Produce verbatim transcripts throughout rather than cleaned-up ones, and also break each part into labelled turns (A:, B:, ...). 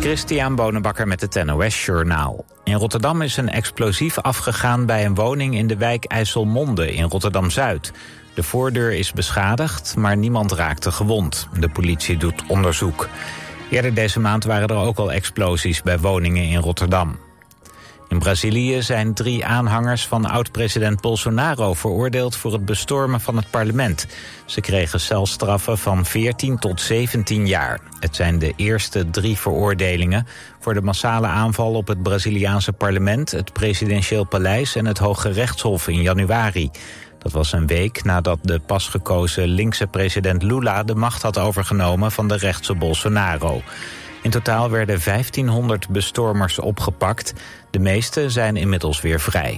A: Christian Bonenbakker met het N O S-journaal. In Rotterdam is een explosief afgegaan bij een woning in de wijk IJsselmonde in Rotterdam-Zuid. De voordeur is beschadigd, maar niemand raakte gewond. De politie doet onderzoek. Eerder deze maand waren er ook al explosies bij woningen in Rotterdam. In Brazilië zijn drie aanhangers van oud-president Bolsonaro veroordeeld voor het bestormen van het parlement. Ze kregen celstraffen van veertien tot zeventien jaar. Het zijn de eerste drie veroordelingen voor de massale aanval op het Braziliaanse parlement, het presidentieel paleis en het Hoge Rechtshof in januari. Dat was een week nadat de pas gekozen linkse president Lula de macht had overgenomen van de rechtse Bolsonaro. In totaal werden vijftienhonderd bestormers opgepakt. De meeste zijn inmiddels weer vrij.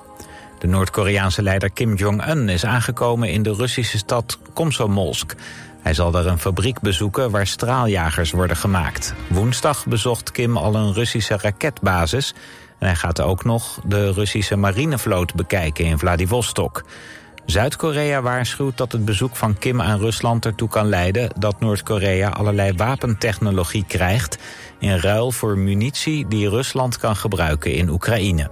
A: De Noord-Koreaanse leider Kim Jong-un is aangekomen in de Russische stad Komsomolsk. Hij zal daar een fabriek bezoeken waar straaljagers worden gemaakt. Woensdag bezocht Kim al een Russische raketbasis. En hij gaat ook nog de Russische marinevloot bekijken in Vladivostok. Zuid-Korea waarschuwt dat het bezoek van Kim aan Rusland ertoe kan leiden dat Noord-Korea allerlei wapentechnologie krijgt in ruil voor munitie die Rusland kan gebruiken in Oekraïne.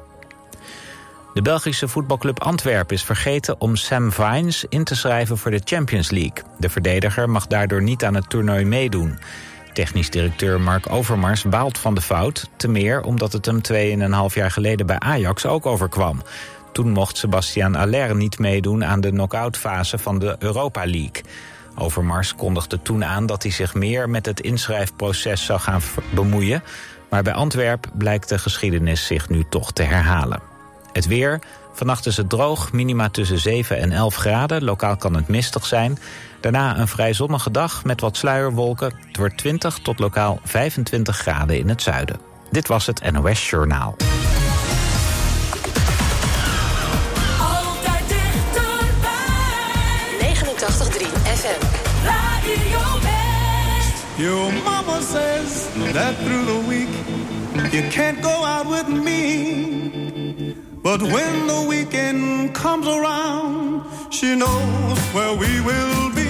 A: De Belgische voetbalclub Antwerpen is vergeten om Sam Vines in te schrijven voor de Champions League. De verdediger mag daardoor niet aan het toernooi meedoen. Technisch directeur Mark Overmars baalt van de fout, te meer omdat het hem tweeënhalf jaar geleden bij Ajax ook overkwam. Toen mocht Sébastien Haller niet meedoen aan de knock-outfase van de Europa League. Overmars kondigde toen aan dat hij zich meer met het inschrijfproces zou gaan bemoeien. Maar bij Antwerpen blijkt de geschiedenis zich nu toch te herhalen. Het weer. Vannacht is het droog, minima tussen zeven en elf graden. Lokaal kan het mistig zijn. Daarna een vrij zonnige dag met wat sluierwolken. Het wordt twintig tot lokaal vijfentwintig graden in het zuiden. Dit was het N O S-journaal.
B: negenentachtig komma drie F M. Radio West.
C: Your mama says that through the week you can't go out with me. But when the weekend comes around, she knows where we will be.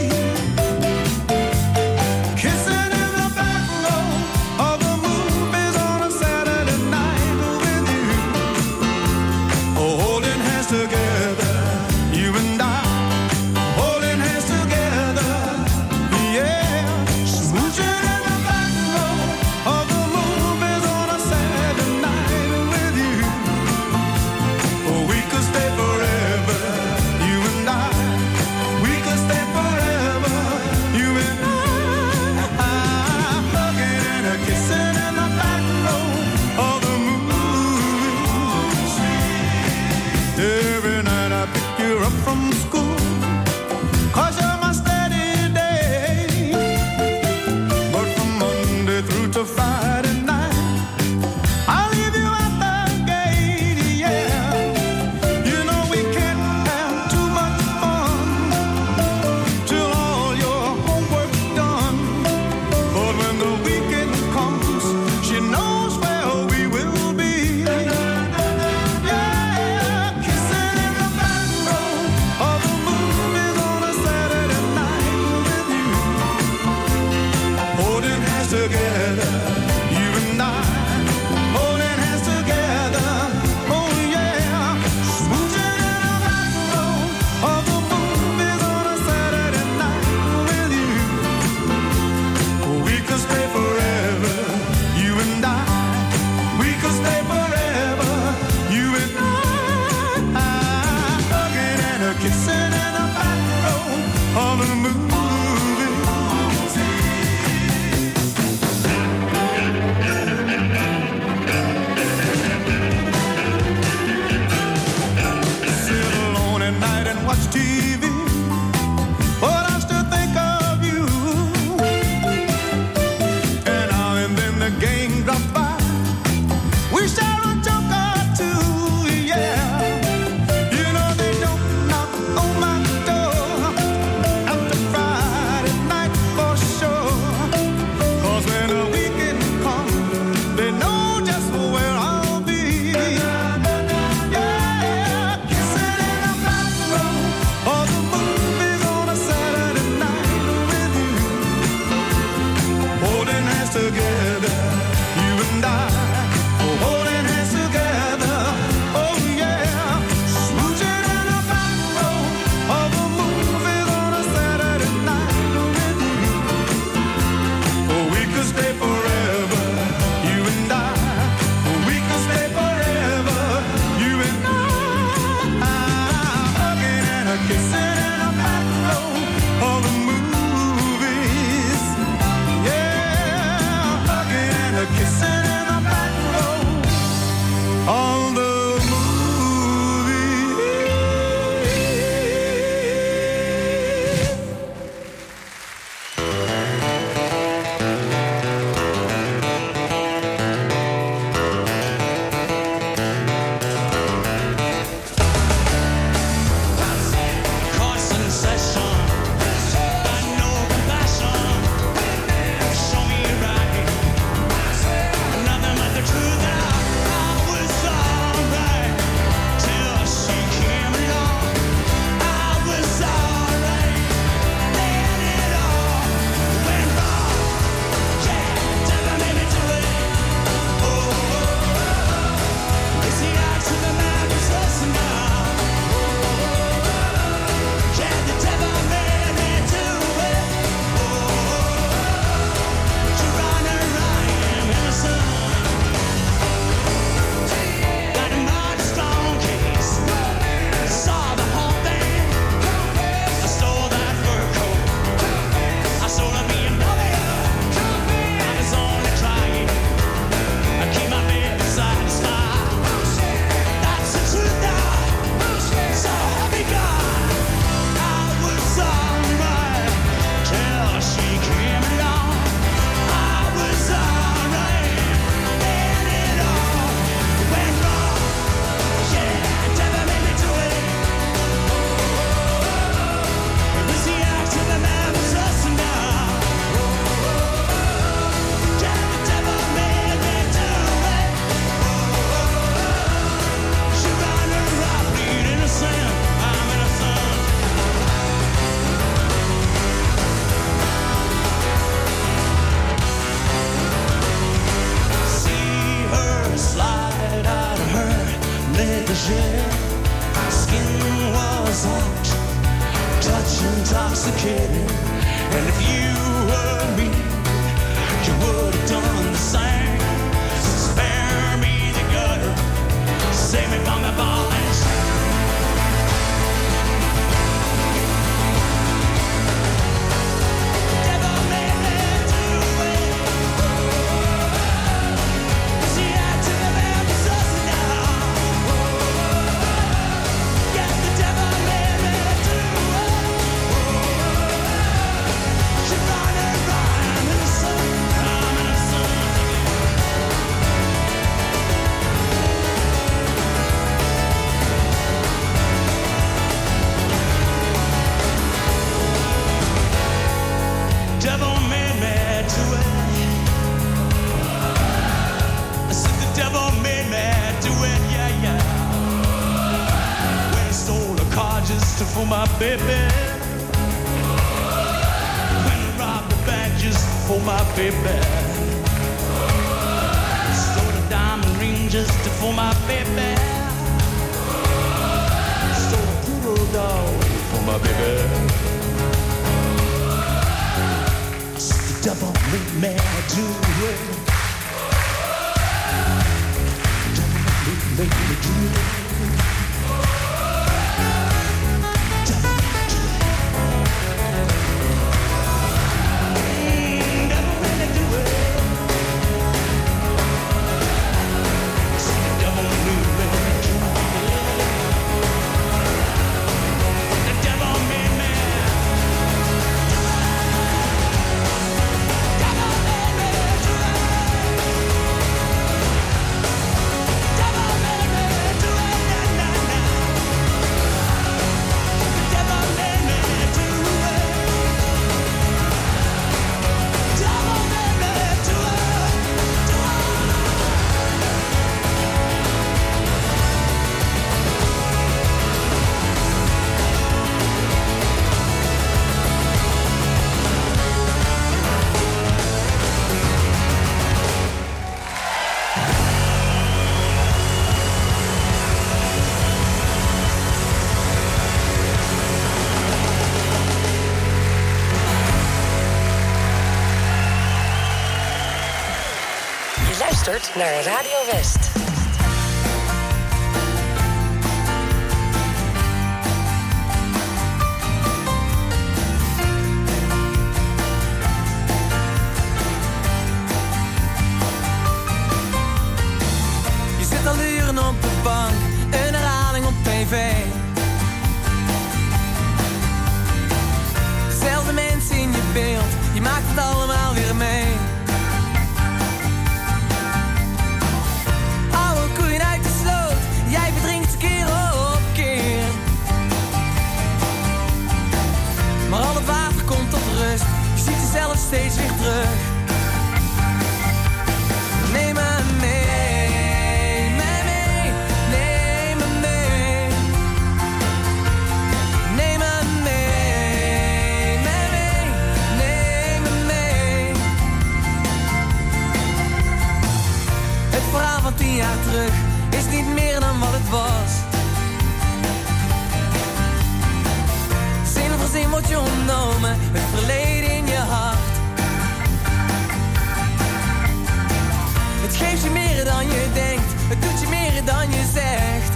C: Kissing in the back row of the movies on a Saturday night with you. Oh, holding hands together, you and I. Holding hands together, yeah. Smooching in the back row of the movies on a Saturday night with you. Oh, we could stay forever, you and I. We could stay forever, you and I. Hugging and a kissing in the back row of the movies. Every night I pick you up from school. 'Cause you're my steady day. But from Monday through to Friday night, I'll leave you at the gate, yeah. You know we can't have too much fun till all your homework's done. But when the weekend comes, she knows where we will be. Yeah, kissing in the back row of the movies on a Saturday night with you. Holding hands together, you and I. Holding hands together, oh yeah. Smooching in the back row of the movies on a Saturday night with you. We could stay forever, you and I. We could stay forever, you and I. Hugging and a kissing in the back row of the movies. together, you and I, holding hands together. Oh yeah, smooching in the back row of a movie on a Saturday night with you. Oh, we could stay forever, you and I. We could stay forever, you and I. Hugging and a kissing in the back row of the movies. Yeah, hugging and a kissing in the back row of the
D: for my baby. When I robbed the bank just for my baby. Stole a diamond ring just for my baby. Stole a poodle dog for my baby. The devil made me do it. The devil made me do it.
B: luistert naar Radio West.
E: Je zit al uren op de bank, een herhaling op tv. Dezelfde mensen in je beeld, je maakt het allemaal weer mee. Oude koeien uit de sloot, jij verdrinkt keer op keer. Maar al het water komt tot rust, je ziet jezelf steeds weer terug. Neem me mee, me mee, neem me mee. Neem me mee, me mee, neem me mee. Het verhaal van tien jaar terug is niet meer dan wat het was. Zin voor zin wordt je ontnomen, het verleden in je hart. Het geeft je meer dan je denkt, het doet je meer dan je zegt.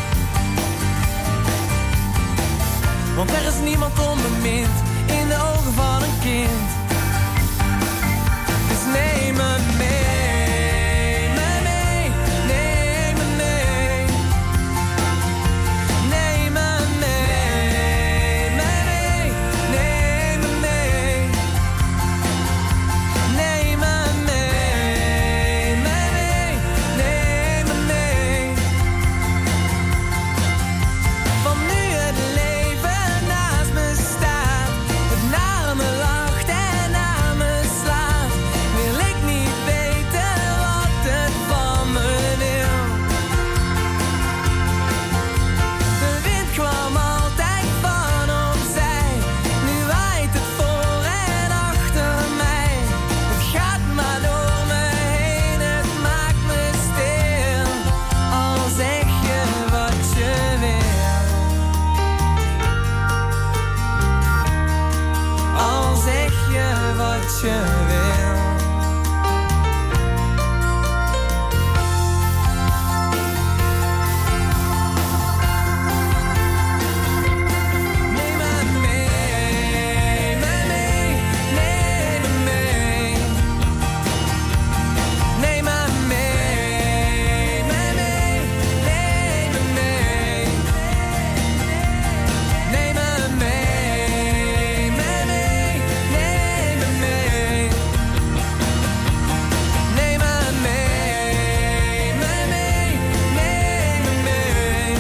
E: Want er is niemand onbemind in de ogen van een kind. Dus neem me mee, me mee, neem me mee. Neem me mee, me mee, neem me mee. Neem me mee, me mee, neem me mee. Van nu het leven naast me staat, het naar me lacht en naar me slaat, wil ik niet weten wat het van me wil. De wind kwam altijd van opzij, nu waait het voor en achter mij. Het gaat maar door me heen, het maakt me stil. Al zeg je wat je wil. Al zeg je wat je wil. Neem me mee, me mee, neem me mee. Neem me mee, me mee, neem me mee. Neem me mee, me mee, neem me mee. Neem me mee, me mee, neem me mee.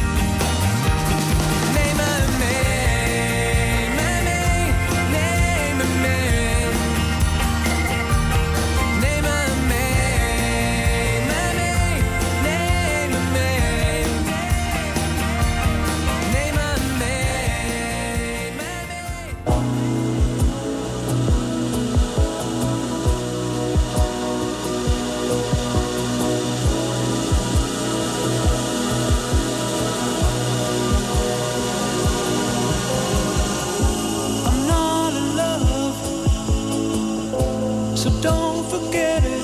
E: Neem me mee, me mee, neem me mee. Neem me mee, me mee, neem me mee. Neem me mee, me mee.
D: I'm not in love, so don't forget it.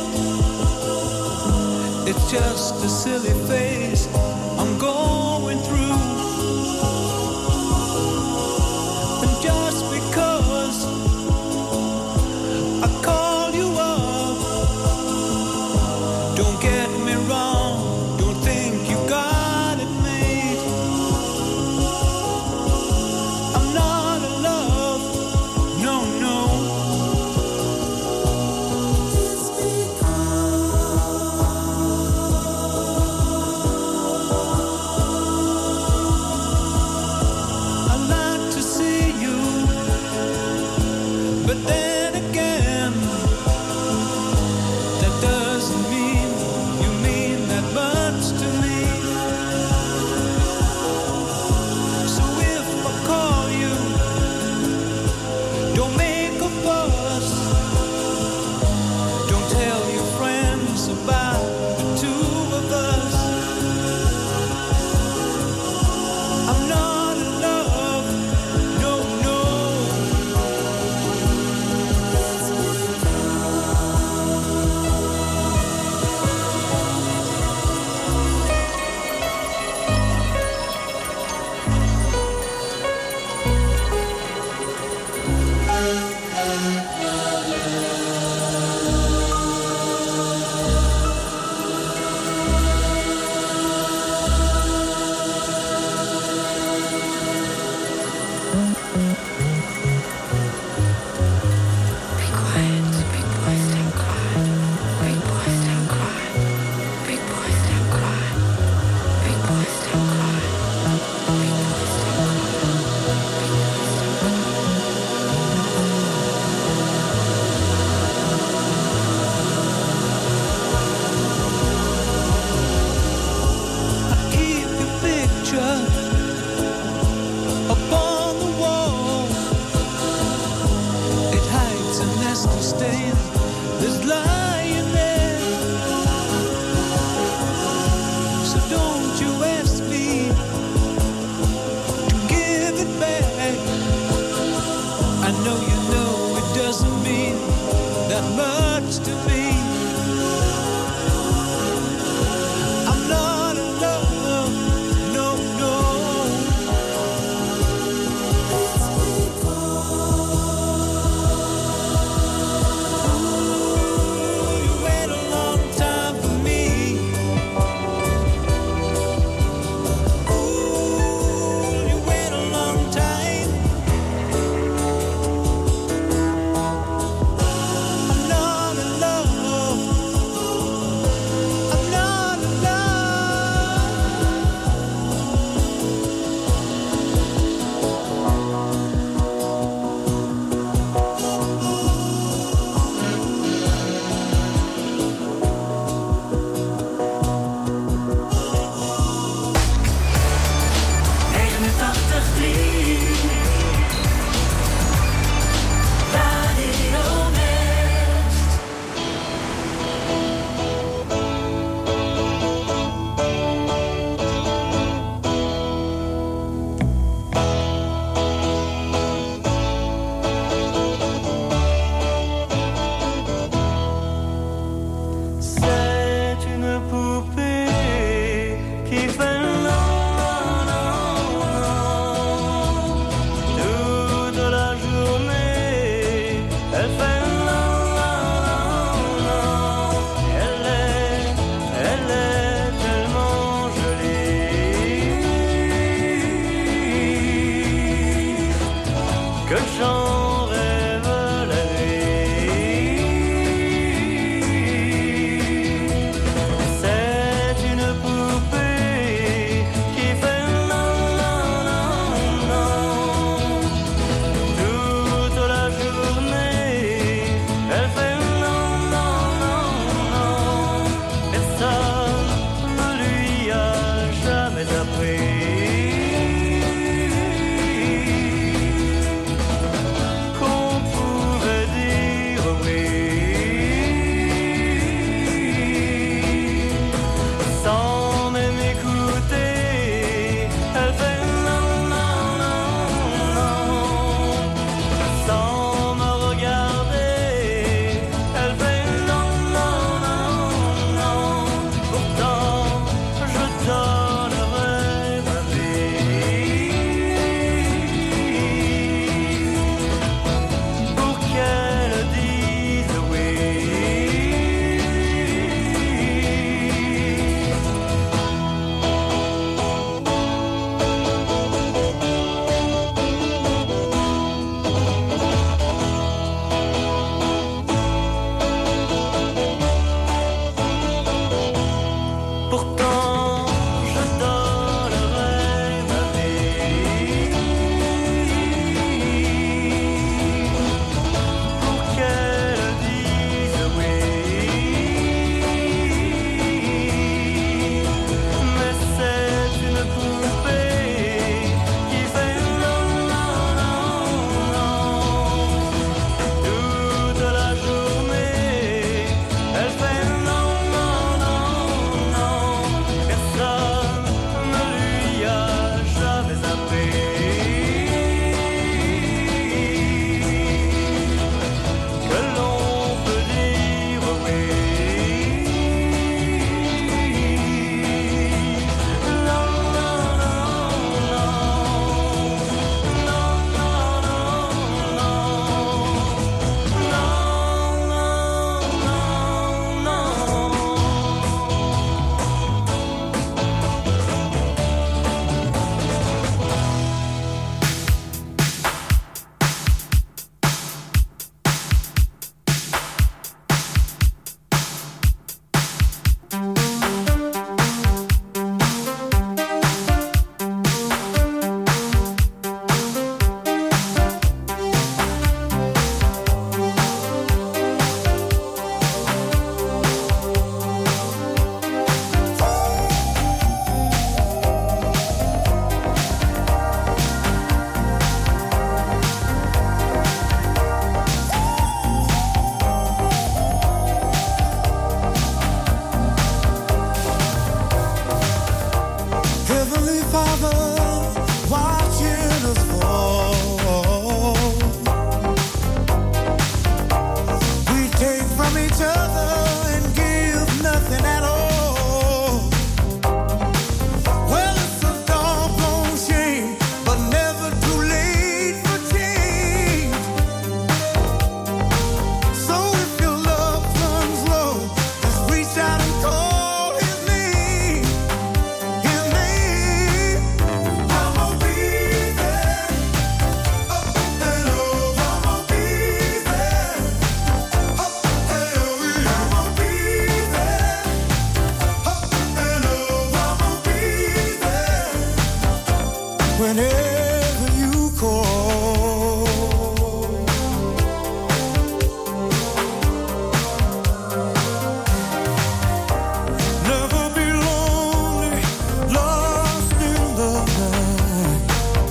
D: It's just a silly phase I'm going through. And just because I call you up, don't get me wrong, don't think you got it made. I'm not in love, no, no. I like to see you, but then again, that doesn't mean you
C: Father watching us fall. We take from each other and give nothing at all. Well, it's a doggone shame, but never too late for change. So if your love runs low, just reach out and call his name, his name. I'ma be there, up and over. I'ma be there, up and over. I'ma be there, up and over. I'ma be there whenever you call. Never be lonely, lost in the night.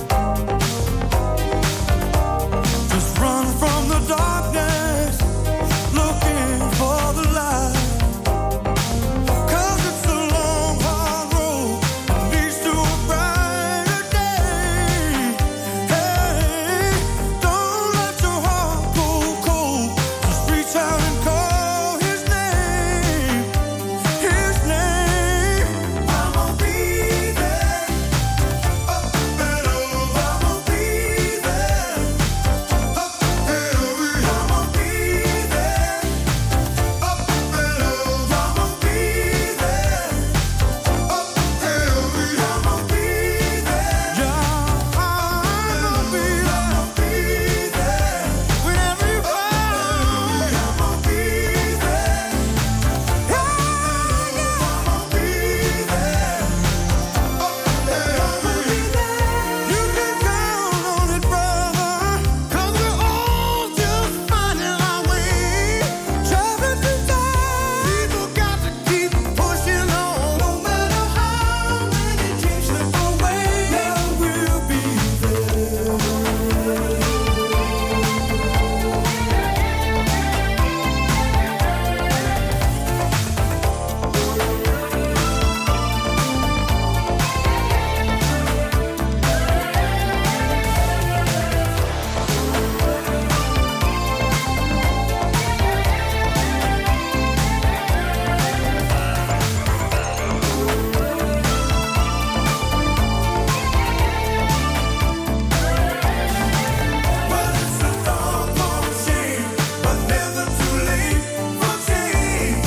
C: Just run from the darkness, looking for the light. 'Cause it's a long, hard road that leads to a brighter day. Hey, don't let your heart go cold. Just reach out and call his name, his name. I'ma be there, up and over. I'ma be there, up and over. I'ma be there, up and over. I'ma be there, up and over. I'ma be there, yeah. I'ma be there, I'ma be there whenever you call. I'ma be there, yeah, yeah. I'ma be there, up and over. You can count on it, brother, 'cause we're all just finding our way. Traveling through time, people got to keep pushing on. No matter how many dreams slip away, yeah, we'll be there. Well, it's a doggone shame, but never too late for change.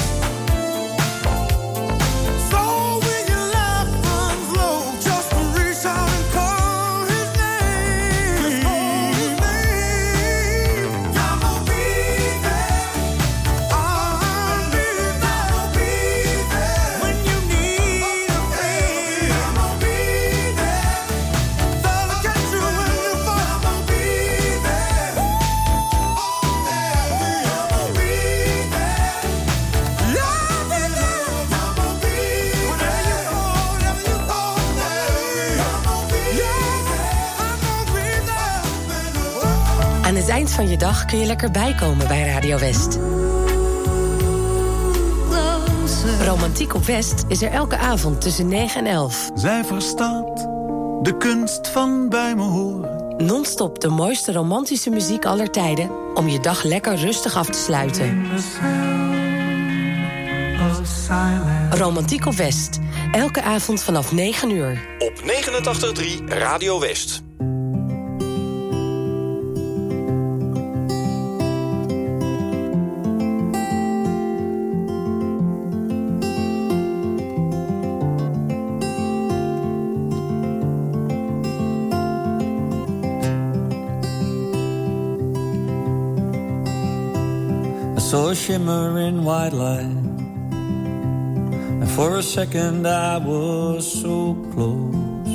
C: So when your life runs low, just reach out and call his name. Just call his name. I'ma be there. I'll be there. I'ma be there when you need a friend. I'ma be there. They'll catch you when you fall. I'ma be there. I'ma be there. Love is love. I'ma be whenever you call, whenever you call. I'ma be there.
F: Aan het eind van je dag kun je lekker bijkomen bij Radio West. Romantiek op West is er elke avond tussen negen en elf.
C: Zij verstaat de kunst van bij me horen.
F: Non-stop de mooiste romantische muziek aller tijden om je dag lekker rustig af te sluiten. Romantiek op West. Elke avond vanaf negen uur.
G: Op negenentachtig komma drie Radio West.
H: I saw a shimmering white light, and for a second I was so close.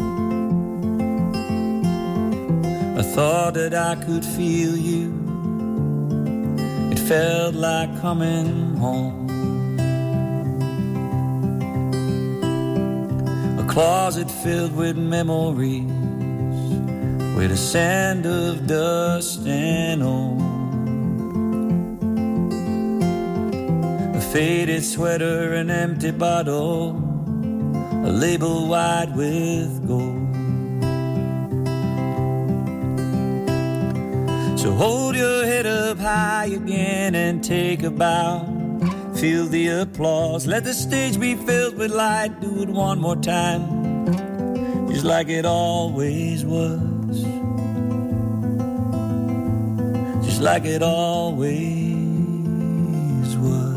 H: I thought that I could feel you. It felt like coming home. A closet filled with memories, with a sand of dust and old. A faded sweater, an empty bottle, a label wide with gold. So hold your head up high again and take a bow. Feel the applause, let the stage be filled with light. Do it one more time, just like it always was. Just like it always was.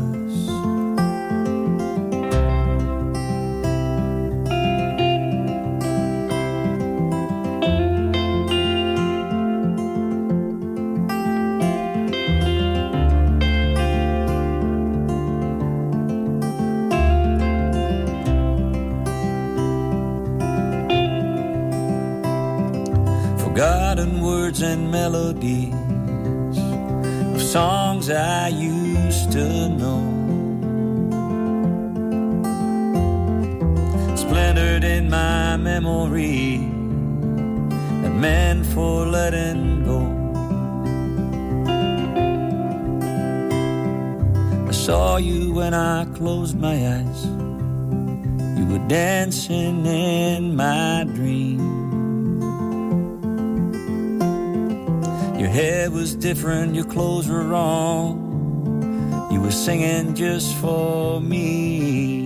H: Forgotten words and melodies of songs I used to know, splintered in my memory and meant for letting go. I saw you when I closed my eyes. You were dancing in my dream. Your hair was different, your clothes were wrong. You were singing just for me.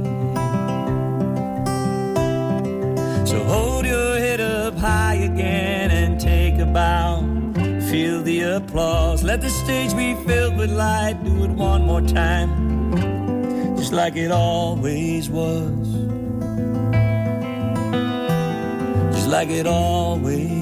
H: So hold your head up high again and take a bow. Feel the applause, let the stage be filled with light. Do it one more time, just like it always was. Just like it always.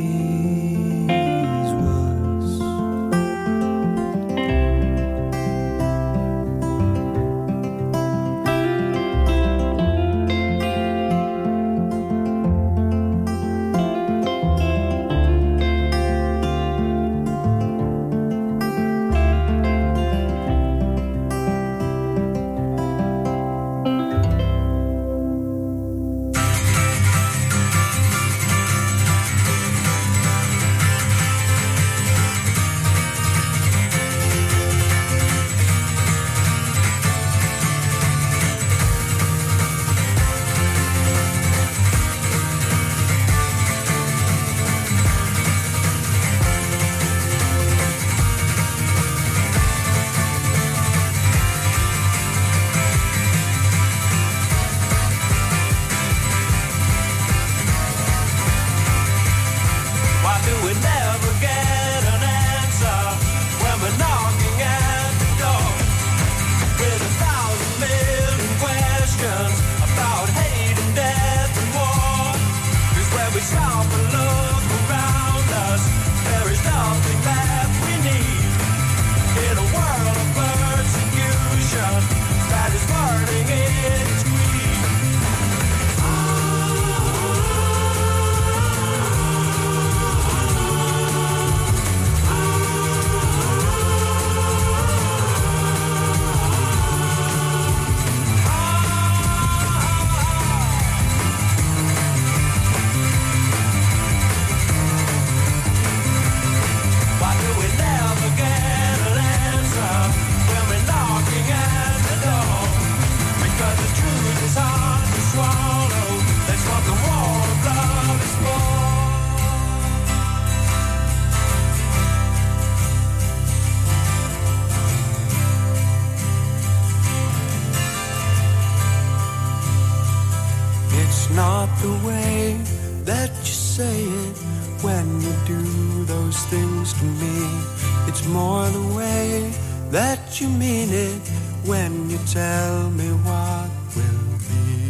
C: not the way that you say it when you do those things to me. It's more the way that you mean it when you tell me what will be.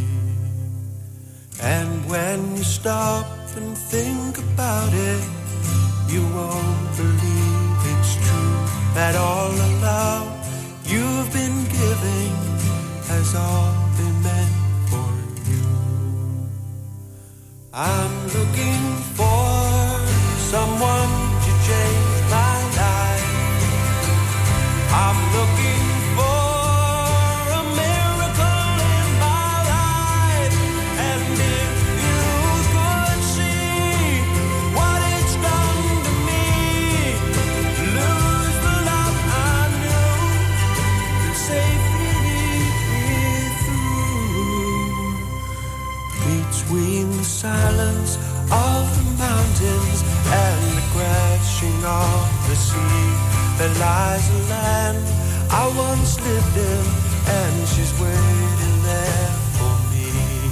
C: And when you stop and think about it, you won't believe it's true, that all the love you've been giving has all been meant for you. I'm looking for someone to change my life. I'm looking for a miracle in my life. And if you could see what it's done to me, lose the love I knew, and safely with silence of the mountains and the crashing of the sea, there lies a land I once lived in, and she's waiting there for me.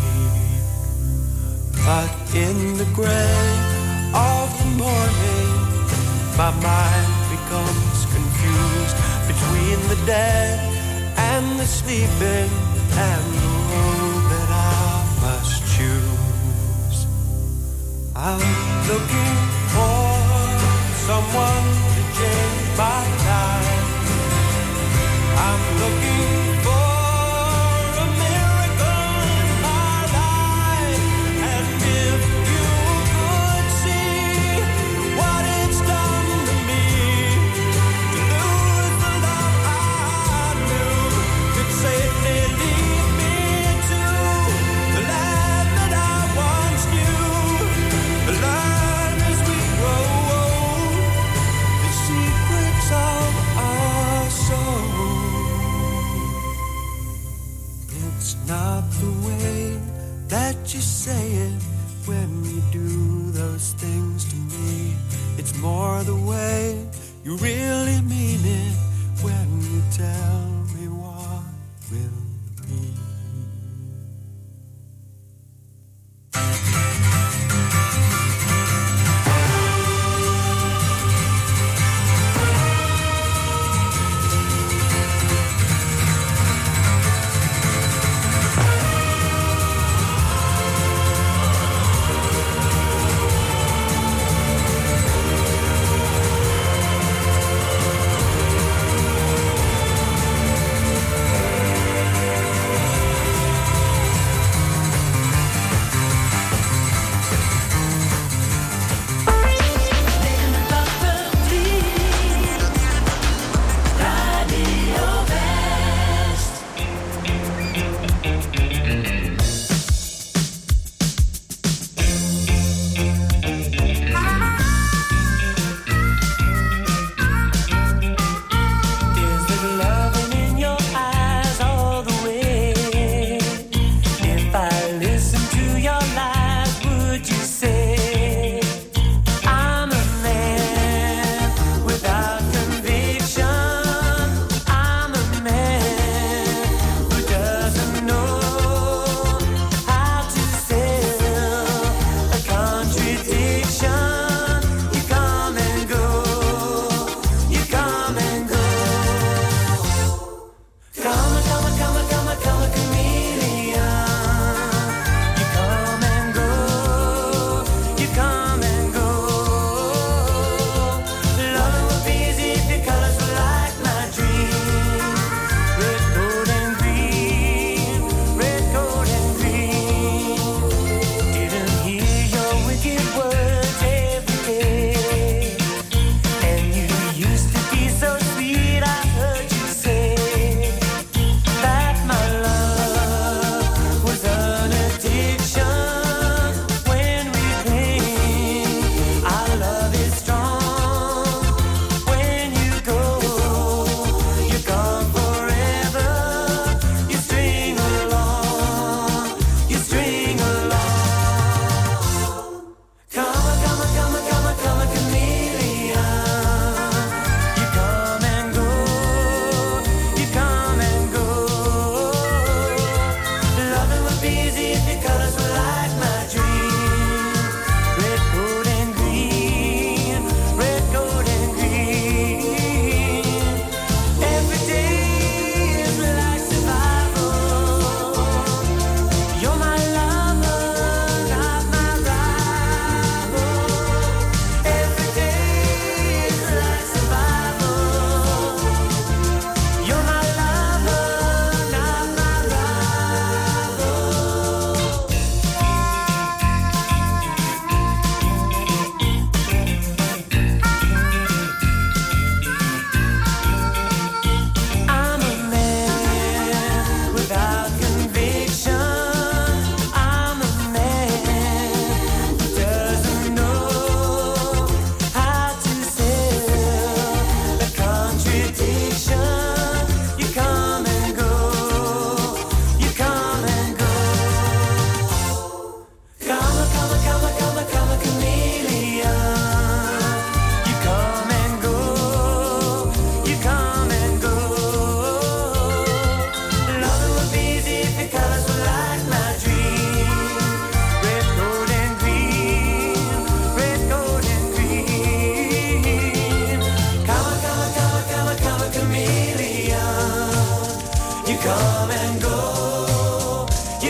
C: But in the gray of the morning, my mind becomes confused between the dead and the sleeping, and the road that I must choose. I'm looking for someone to change my life. I'm looking for a miracle in my life. And if you could see what it's done to me, to lose the love I knew, could safely lead me to the land that I once knew. Learn as we grow old the secrets of our soul. It's not the way that you say it when you do those things to me. It's more the way you really mean it when you tell me what will be.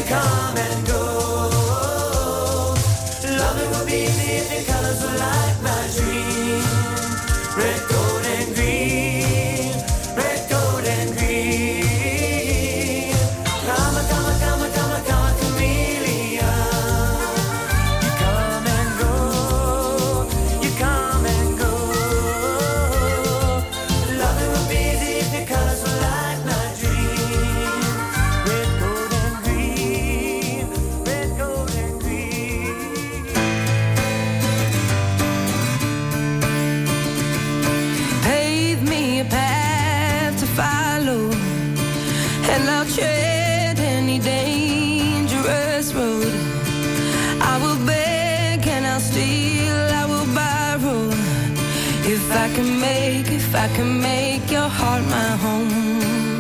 E: come and go. Loving would be easy if your colors were like my dream. Red, gold, and green. Red, gold, and green. Come, come, come, come, come, chameleon. You come and go. You come and go. Loving would be easy if your colors were like my dream. Red, gold, and green. Red, gold, and green. Pave me a path to follow, and I'll tread any dangerous road. I will beg and I'll steal, I will borrow. If I can make, if I can make your heart my home.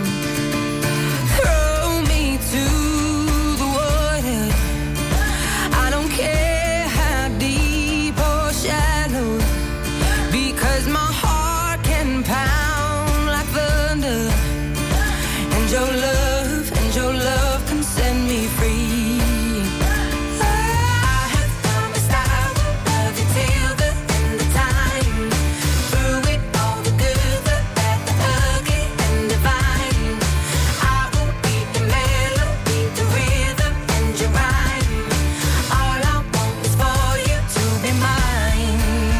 E: Throw me to the water. I don't care how deep or shallow, because my heart can pound like thunder. And your love, and your love can set me free. I have promised I will love you till the end of time. Through it all, the good, the bad, the ugly, and divine. I will be your melody, the rhythm, and your rhyme. All I want is for you to be mine.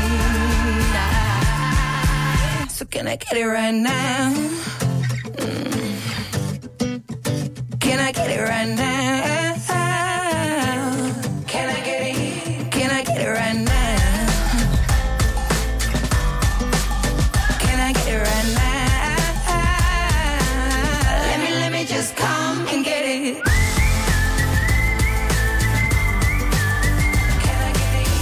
E: So can I get it right now? Can I get it right now? Can I get it? Can I get it right now? Can I get it right now? Let me, let me just come and get it. Can I get it?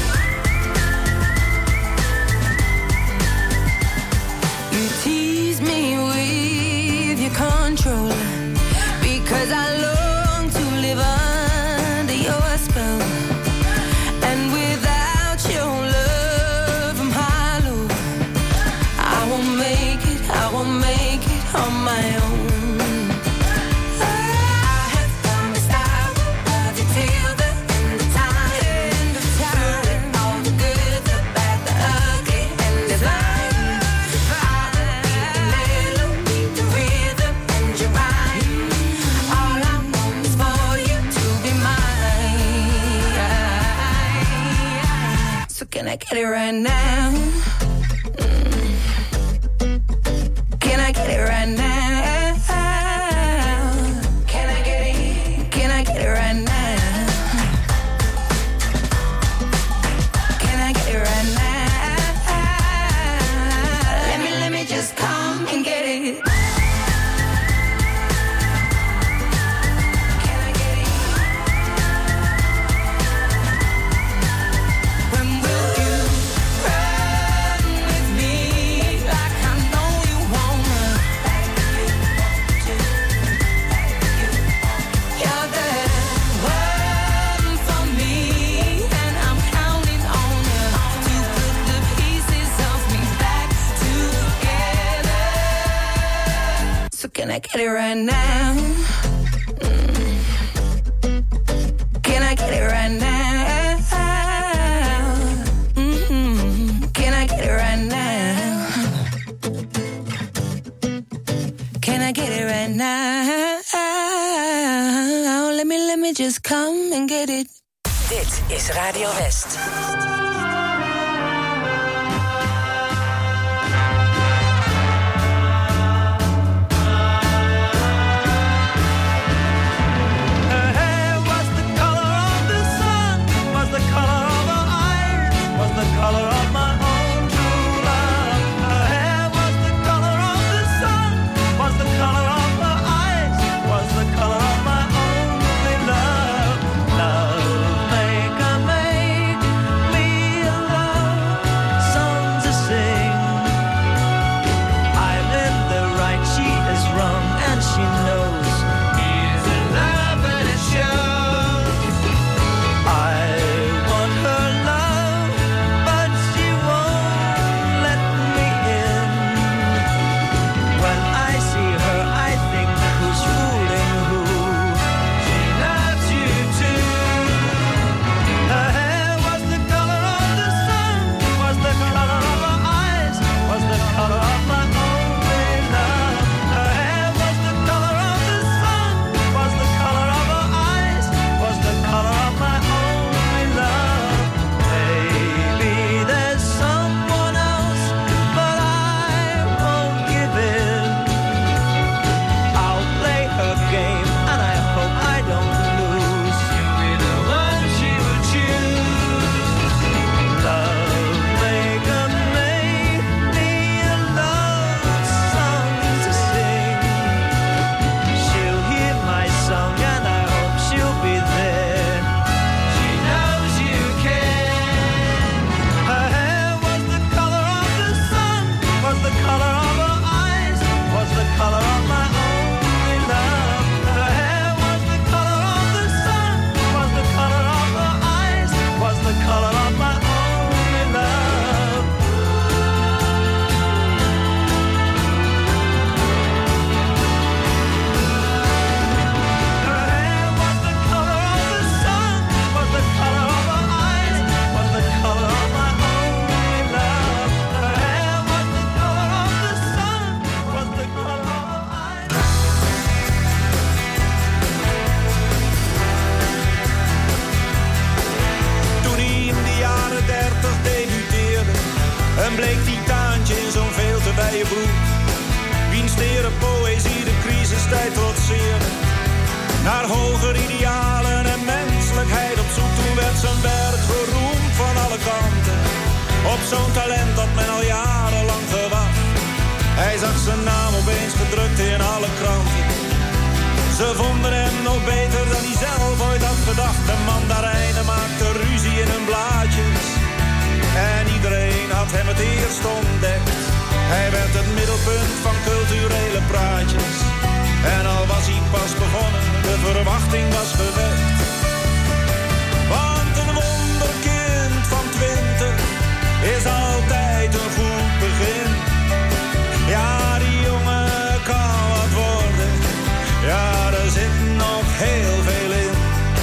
E: You tease me with your control, because I long to live under your spell. And without your love, I'm hollow. I won't make it, I won't make it on my own. I have promised I will love you till the end of time. End of time. Through all the good, the bad, the ugly, and divine. I will be the melody, the rhythm, and your rhyme. All I want is for you to be mine. So can I get it right now? Mm. Can I get it right now? Can I get it? Can I get it right now? Can I get it right now? Let me, let me just come and get it. Can I get it? When will you run with me like I know you wanna? You're the one for me, and I'm counting on you to put the pieces of me back together. So can I get it right now? Mm. Can I get it right now? Mm-hmm. Can I get it right now? Can I get it right now? Let me, let me just come and get it.
F: Dit is Radio West.
C: Her hair was the color of the sun, was the color of her eyes, was the color of my own true love. Her hair was the color of the sun, was the color of her eyes, was the color of my only love. Love maker, make me naar hoger idealen en menselijkheid op zoek. Toen werd zijn werk geroemd van alle kanten, op zo'n talent dat men al jarenlang gewacht. Hij zag zijn naam opeens gedrukt in alle kranten. Ze vonden hem nog beter dan hij zelf ooit had gedacht. De mandarijnen maakten ruzie in hun blaadjes en iedereen had hem het eerst ontdekt. Hij werd het middelpunt van culturele praatjes en al was hij pas begonnen, de verwachting was gewekt. Want een wonderkind van twintig is altijd een goed begin. Ja, die jongen kan wat worden, ja, er zit nog heel veel in.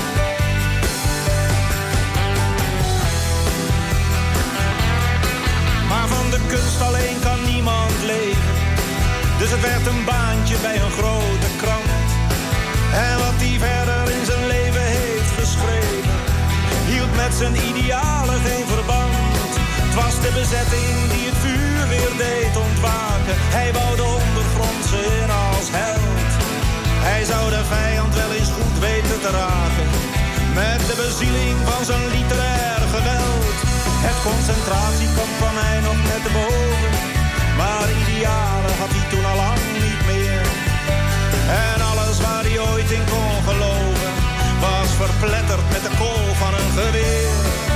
C: Maar van de kunst alleen kan niemand leven, dus het werd een baantje bij een grote krant. En wat hij verder in zijn leven heeft geschreven, hield met zijn idealen geen verband. Het was de bezetting die het vuur weer deed ontwaken. Hij wou de ondergrondse in als held. Hij zou de vijand wel eens goed weten te raken, met de bezieling van zijn literair geweld. Het concentratiekamp kwam hij nog net te boven, maar idealen had hij toen al lang niet meer. En alles waar hij ooit in kon geloven, was verpletterd met de kool van een geweer.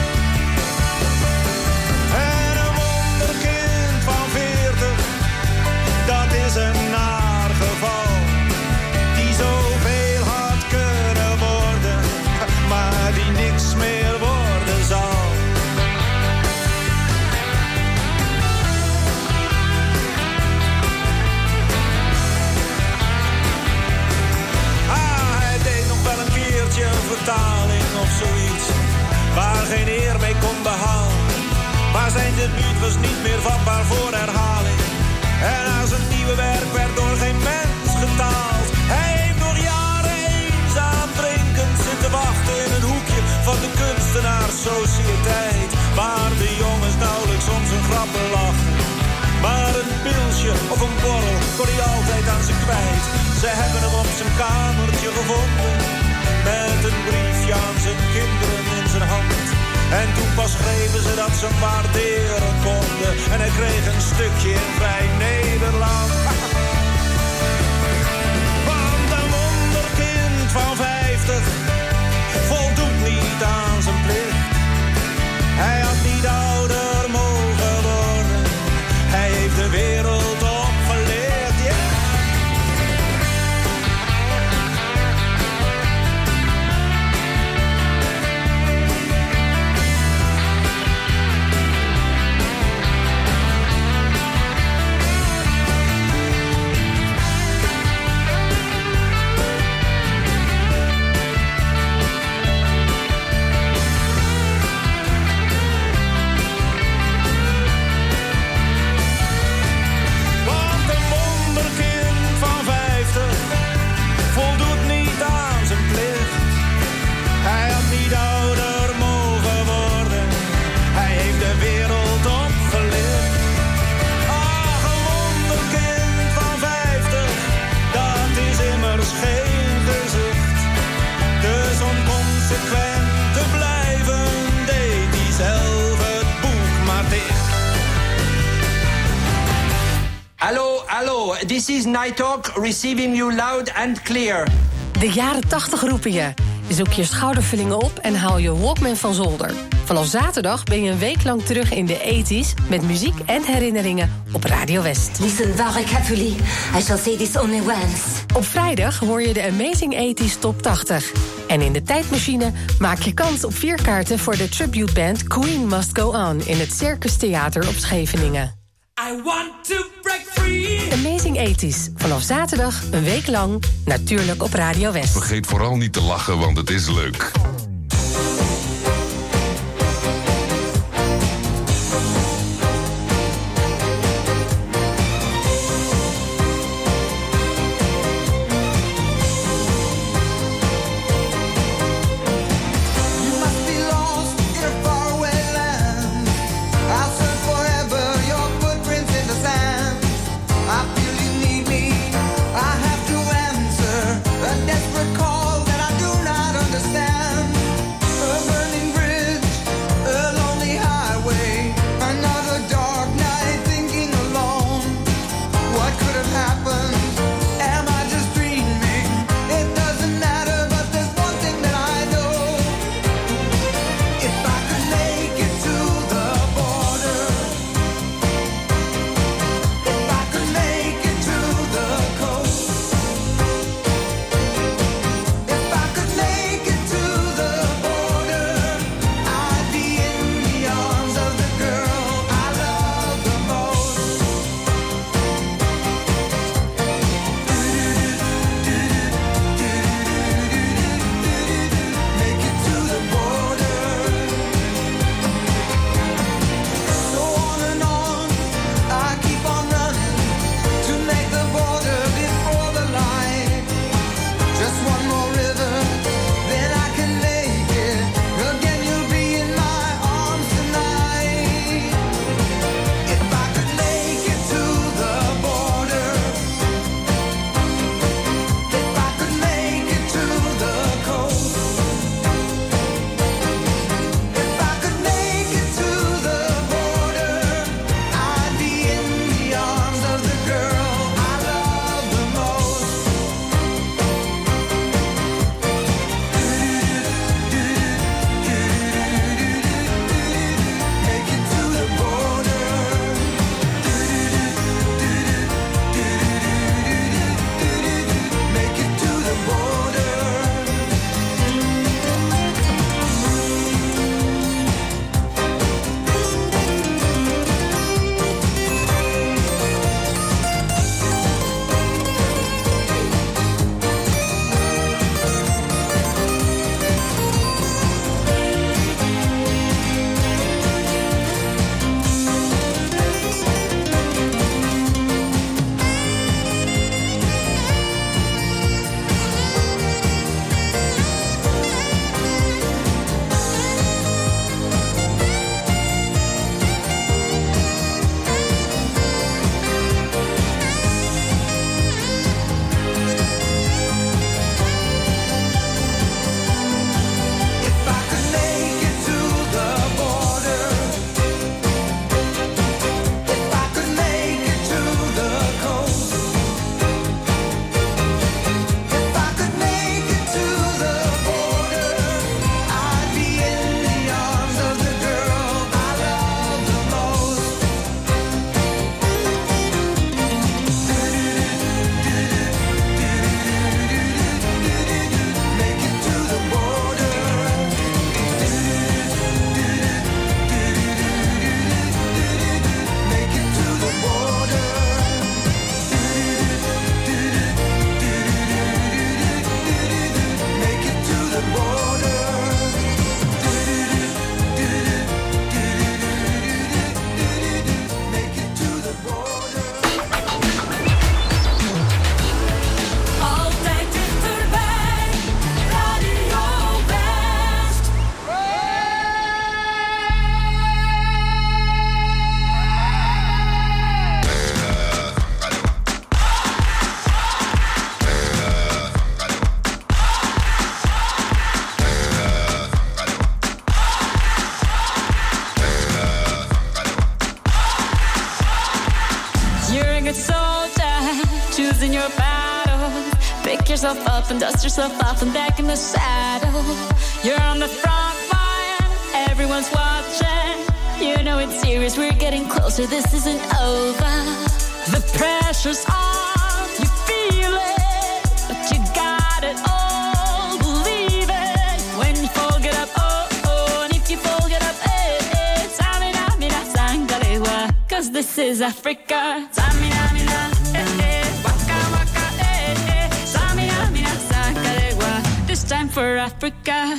C: En een wonderkind van veertig, dat is een naar geval, die zoveel had kunnen worden, maar die niks meer worden zal. Ah, hij deed nog wel een keertje een vertaling of zoiets, waar geen eer mee kon behalen. Maar zijn debuut was niet meer vatbaar voor herhaling. En aan zijn nieuwe werk werd door geen mens getaald. Hij heeft nog jaren eenzaam drinkend zitten wachten in een hoekje van de kunstenaarssociëteit, waar de jongens nauwelijks om zijn grappen lachen. Maar een pilsje of een borrel kon hij altijd aan ze kwijt. Ze hebben hem op zijn kamertje gevonden, met een briefje aan zijn kinderen in zijn hand. En toen pas schreven ze dat ze hem waarderen konden, en hij kreeg een stukje in Vrij Nederland. Want een wonderkind van vijftig voldoet niet aan zijn plicht. Hij had niet ouder mogen worden, hij heeft de wereld opgeleerd, ja. Yeah.
I: This is Nighthawk, receiving you loud and clear.
F: De jaren tachtig roepen je. Zoek je schoudervullingen op en haal je Walkman van zolder. Vanaf zaterdag ben je een week lang terug in de tachtiger met muziek en herinneringen op Radio West.
B: Listen very carefully. I shall say this only once.
F: Op vrijdag hoor je de Amazing tachtiger Top tachtig. En in de tijdmachine maak je kans op vier kaarten voor de tributeband Queen Must Go On in het Circus Theater op Scheveningen.
E: I want to break free.
F: Amazing tachtiger. Vanaf zaterdag een week lang, natuurlijk op Radio West.
J: Vergeet vooral niet te lachen, want het is leuk.
E: Call
K: losing your battle. Pick yourself up and dust yourself off and back in the saddle. You're on the front line, everyone's watching. You know it's serious, we're getting closer, this isn't over. The pressure's on, you feel it, but you got it all, believe it. When you fall, get up, oh, oh, and if you fall, get up, eh, eh. Samina, mina, sangalewa, cause this is Africa. Samina, mina, eh, eh, waka, waka, eh, eh. Samina, mina, sangalewa, this time for Africa.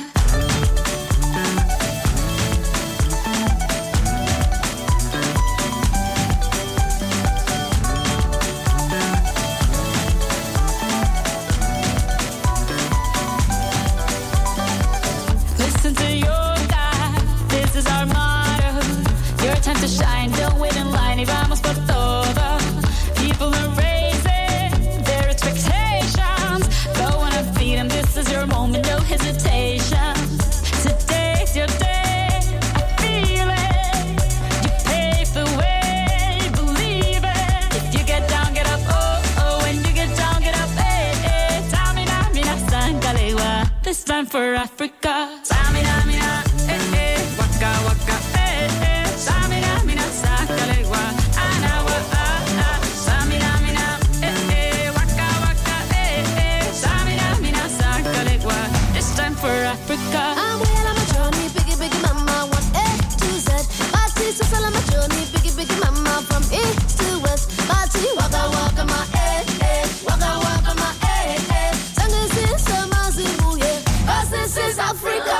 K: Time to shine, don't wait in line, y vamos por todo. People are raising their expectations. Go on and feed them, this is your moment, no hesitation. Today's your day, I feel it. You pave the way, believe it. If you get down, get up, oh, oh. When you get down, get up, eh, eh. Samina, mina, sangalewa, this time for Africa. Samina, mina, eh, eh. Waka, waka, eh, eh. Samina, mina, sangalewa, anawa, ah, ah. Samina, mina, eh, eh. Waka, waka, eh, eh. Samina, mina, sangalewa, this time for Africa.
L: I'm well on my journey, biggie, biggie, mama, one A to Z. Party, so on my journey, biggie, biggie, mama, from east to west. Party, waka, waka, my eh, eh. Waka, waka, my eh, eh. Tango, sister, mazibu, yeah. 'Cause this is Africa.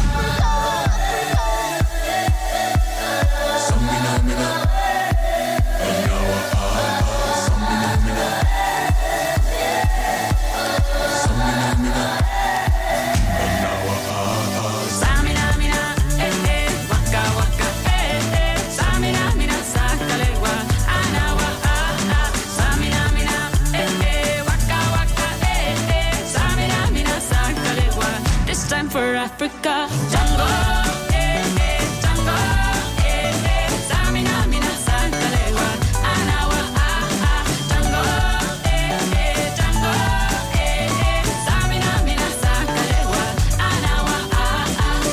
K: For Africa, Django, eh, eh, Django, eh, eh, Samina, mina, sangalewa, anawa, ah, ah, Django, eh, eh, Django, eh, eh, Samina, mina, sangalewa, anawa, ah, ah.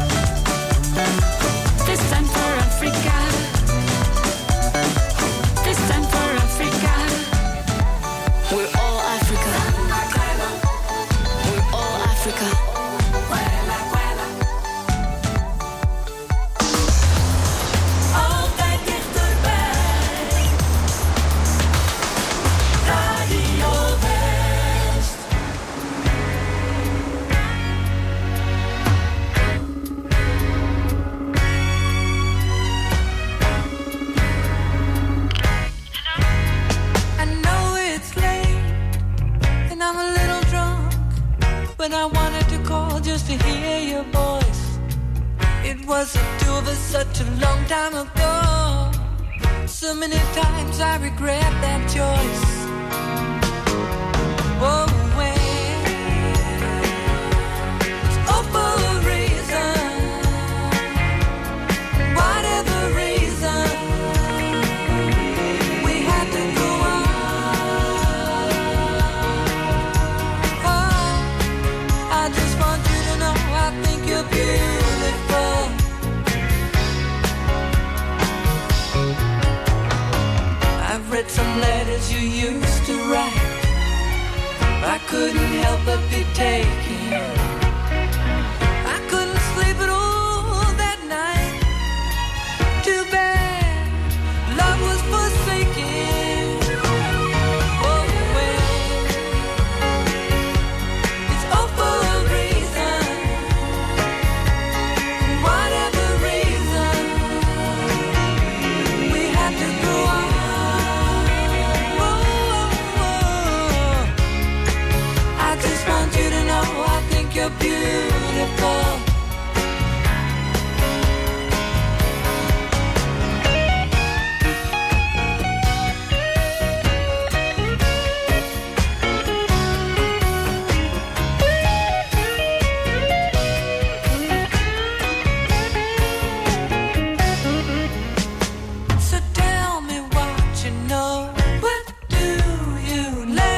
K: This time for Africa, this time for Africa, we're all Africa, we're all Africa.
E: When I wanted to call just to hear your voice. It was the two of us such a long time ago. So many times I regret that choice. Oh, when it's all for a reason. Whatever reason, we had to go on. Oh, I just want you to know I think you're beautiful. I've read some letters you used to write. I couldn't help but be taken. I couldn't sleep at all that night. Too bad love was forsaken. Oh, well, it's all for a reason. Whatever reason, we had to go on. Oh, oh, oh. I just want you to know I think you're beautiful. So tell me what you know. What do you let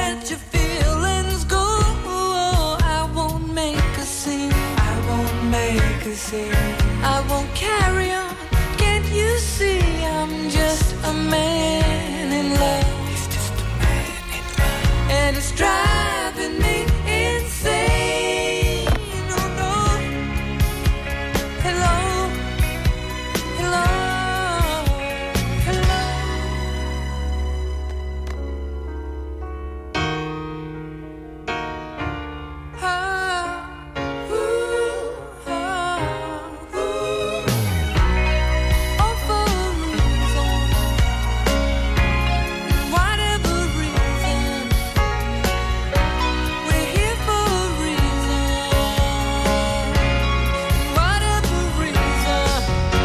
E: say I won't carry on. Can't you see I'm just a man in love? He's just a man in love. And it's driving me insane. Oh no. Hello. Hello. Hello. Ah, ooh, ah, ooh. All for a reason. Whatever reason. We're here for a reason. Whatever reason.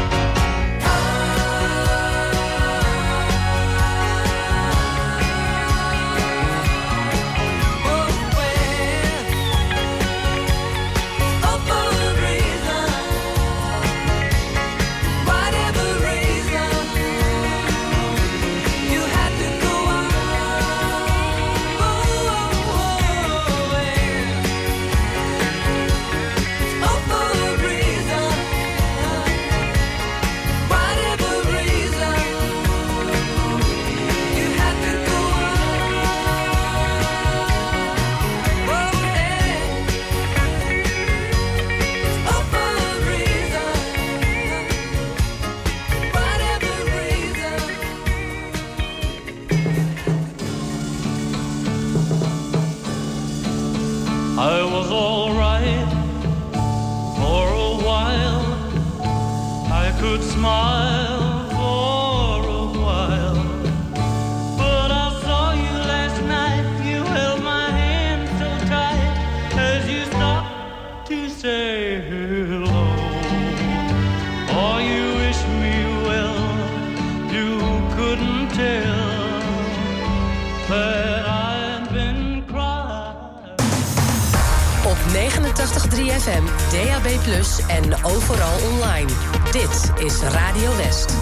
M: I was all right for a while. I could smile for a while. But I saw you last night. You held my hand so tight as you stopped to say hello. Oh, you wish me well. You couldn't tell that I've been crying.
F: Op negenentachtig komma drie F M, D A B plus, en overal online. Dit is Radio West.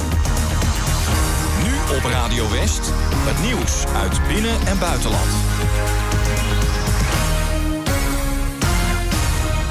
G: Nu op Radio West, het nieuws uit binnen- en buitenland.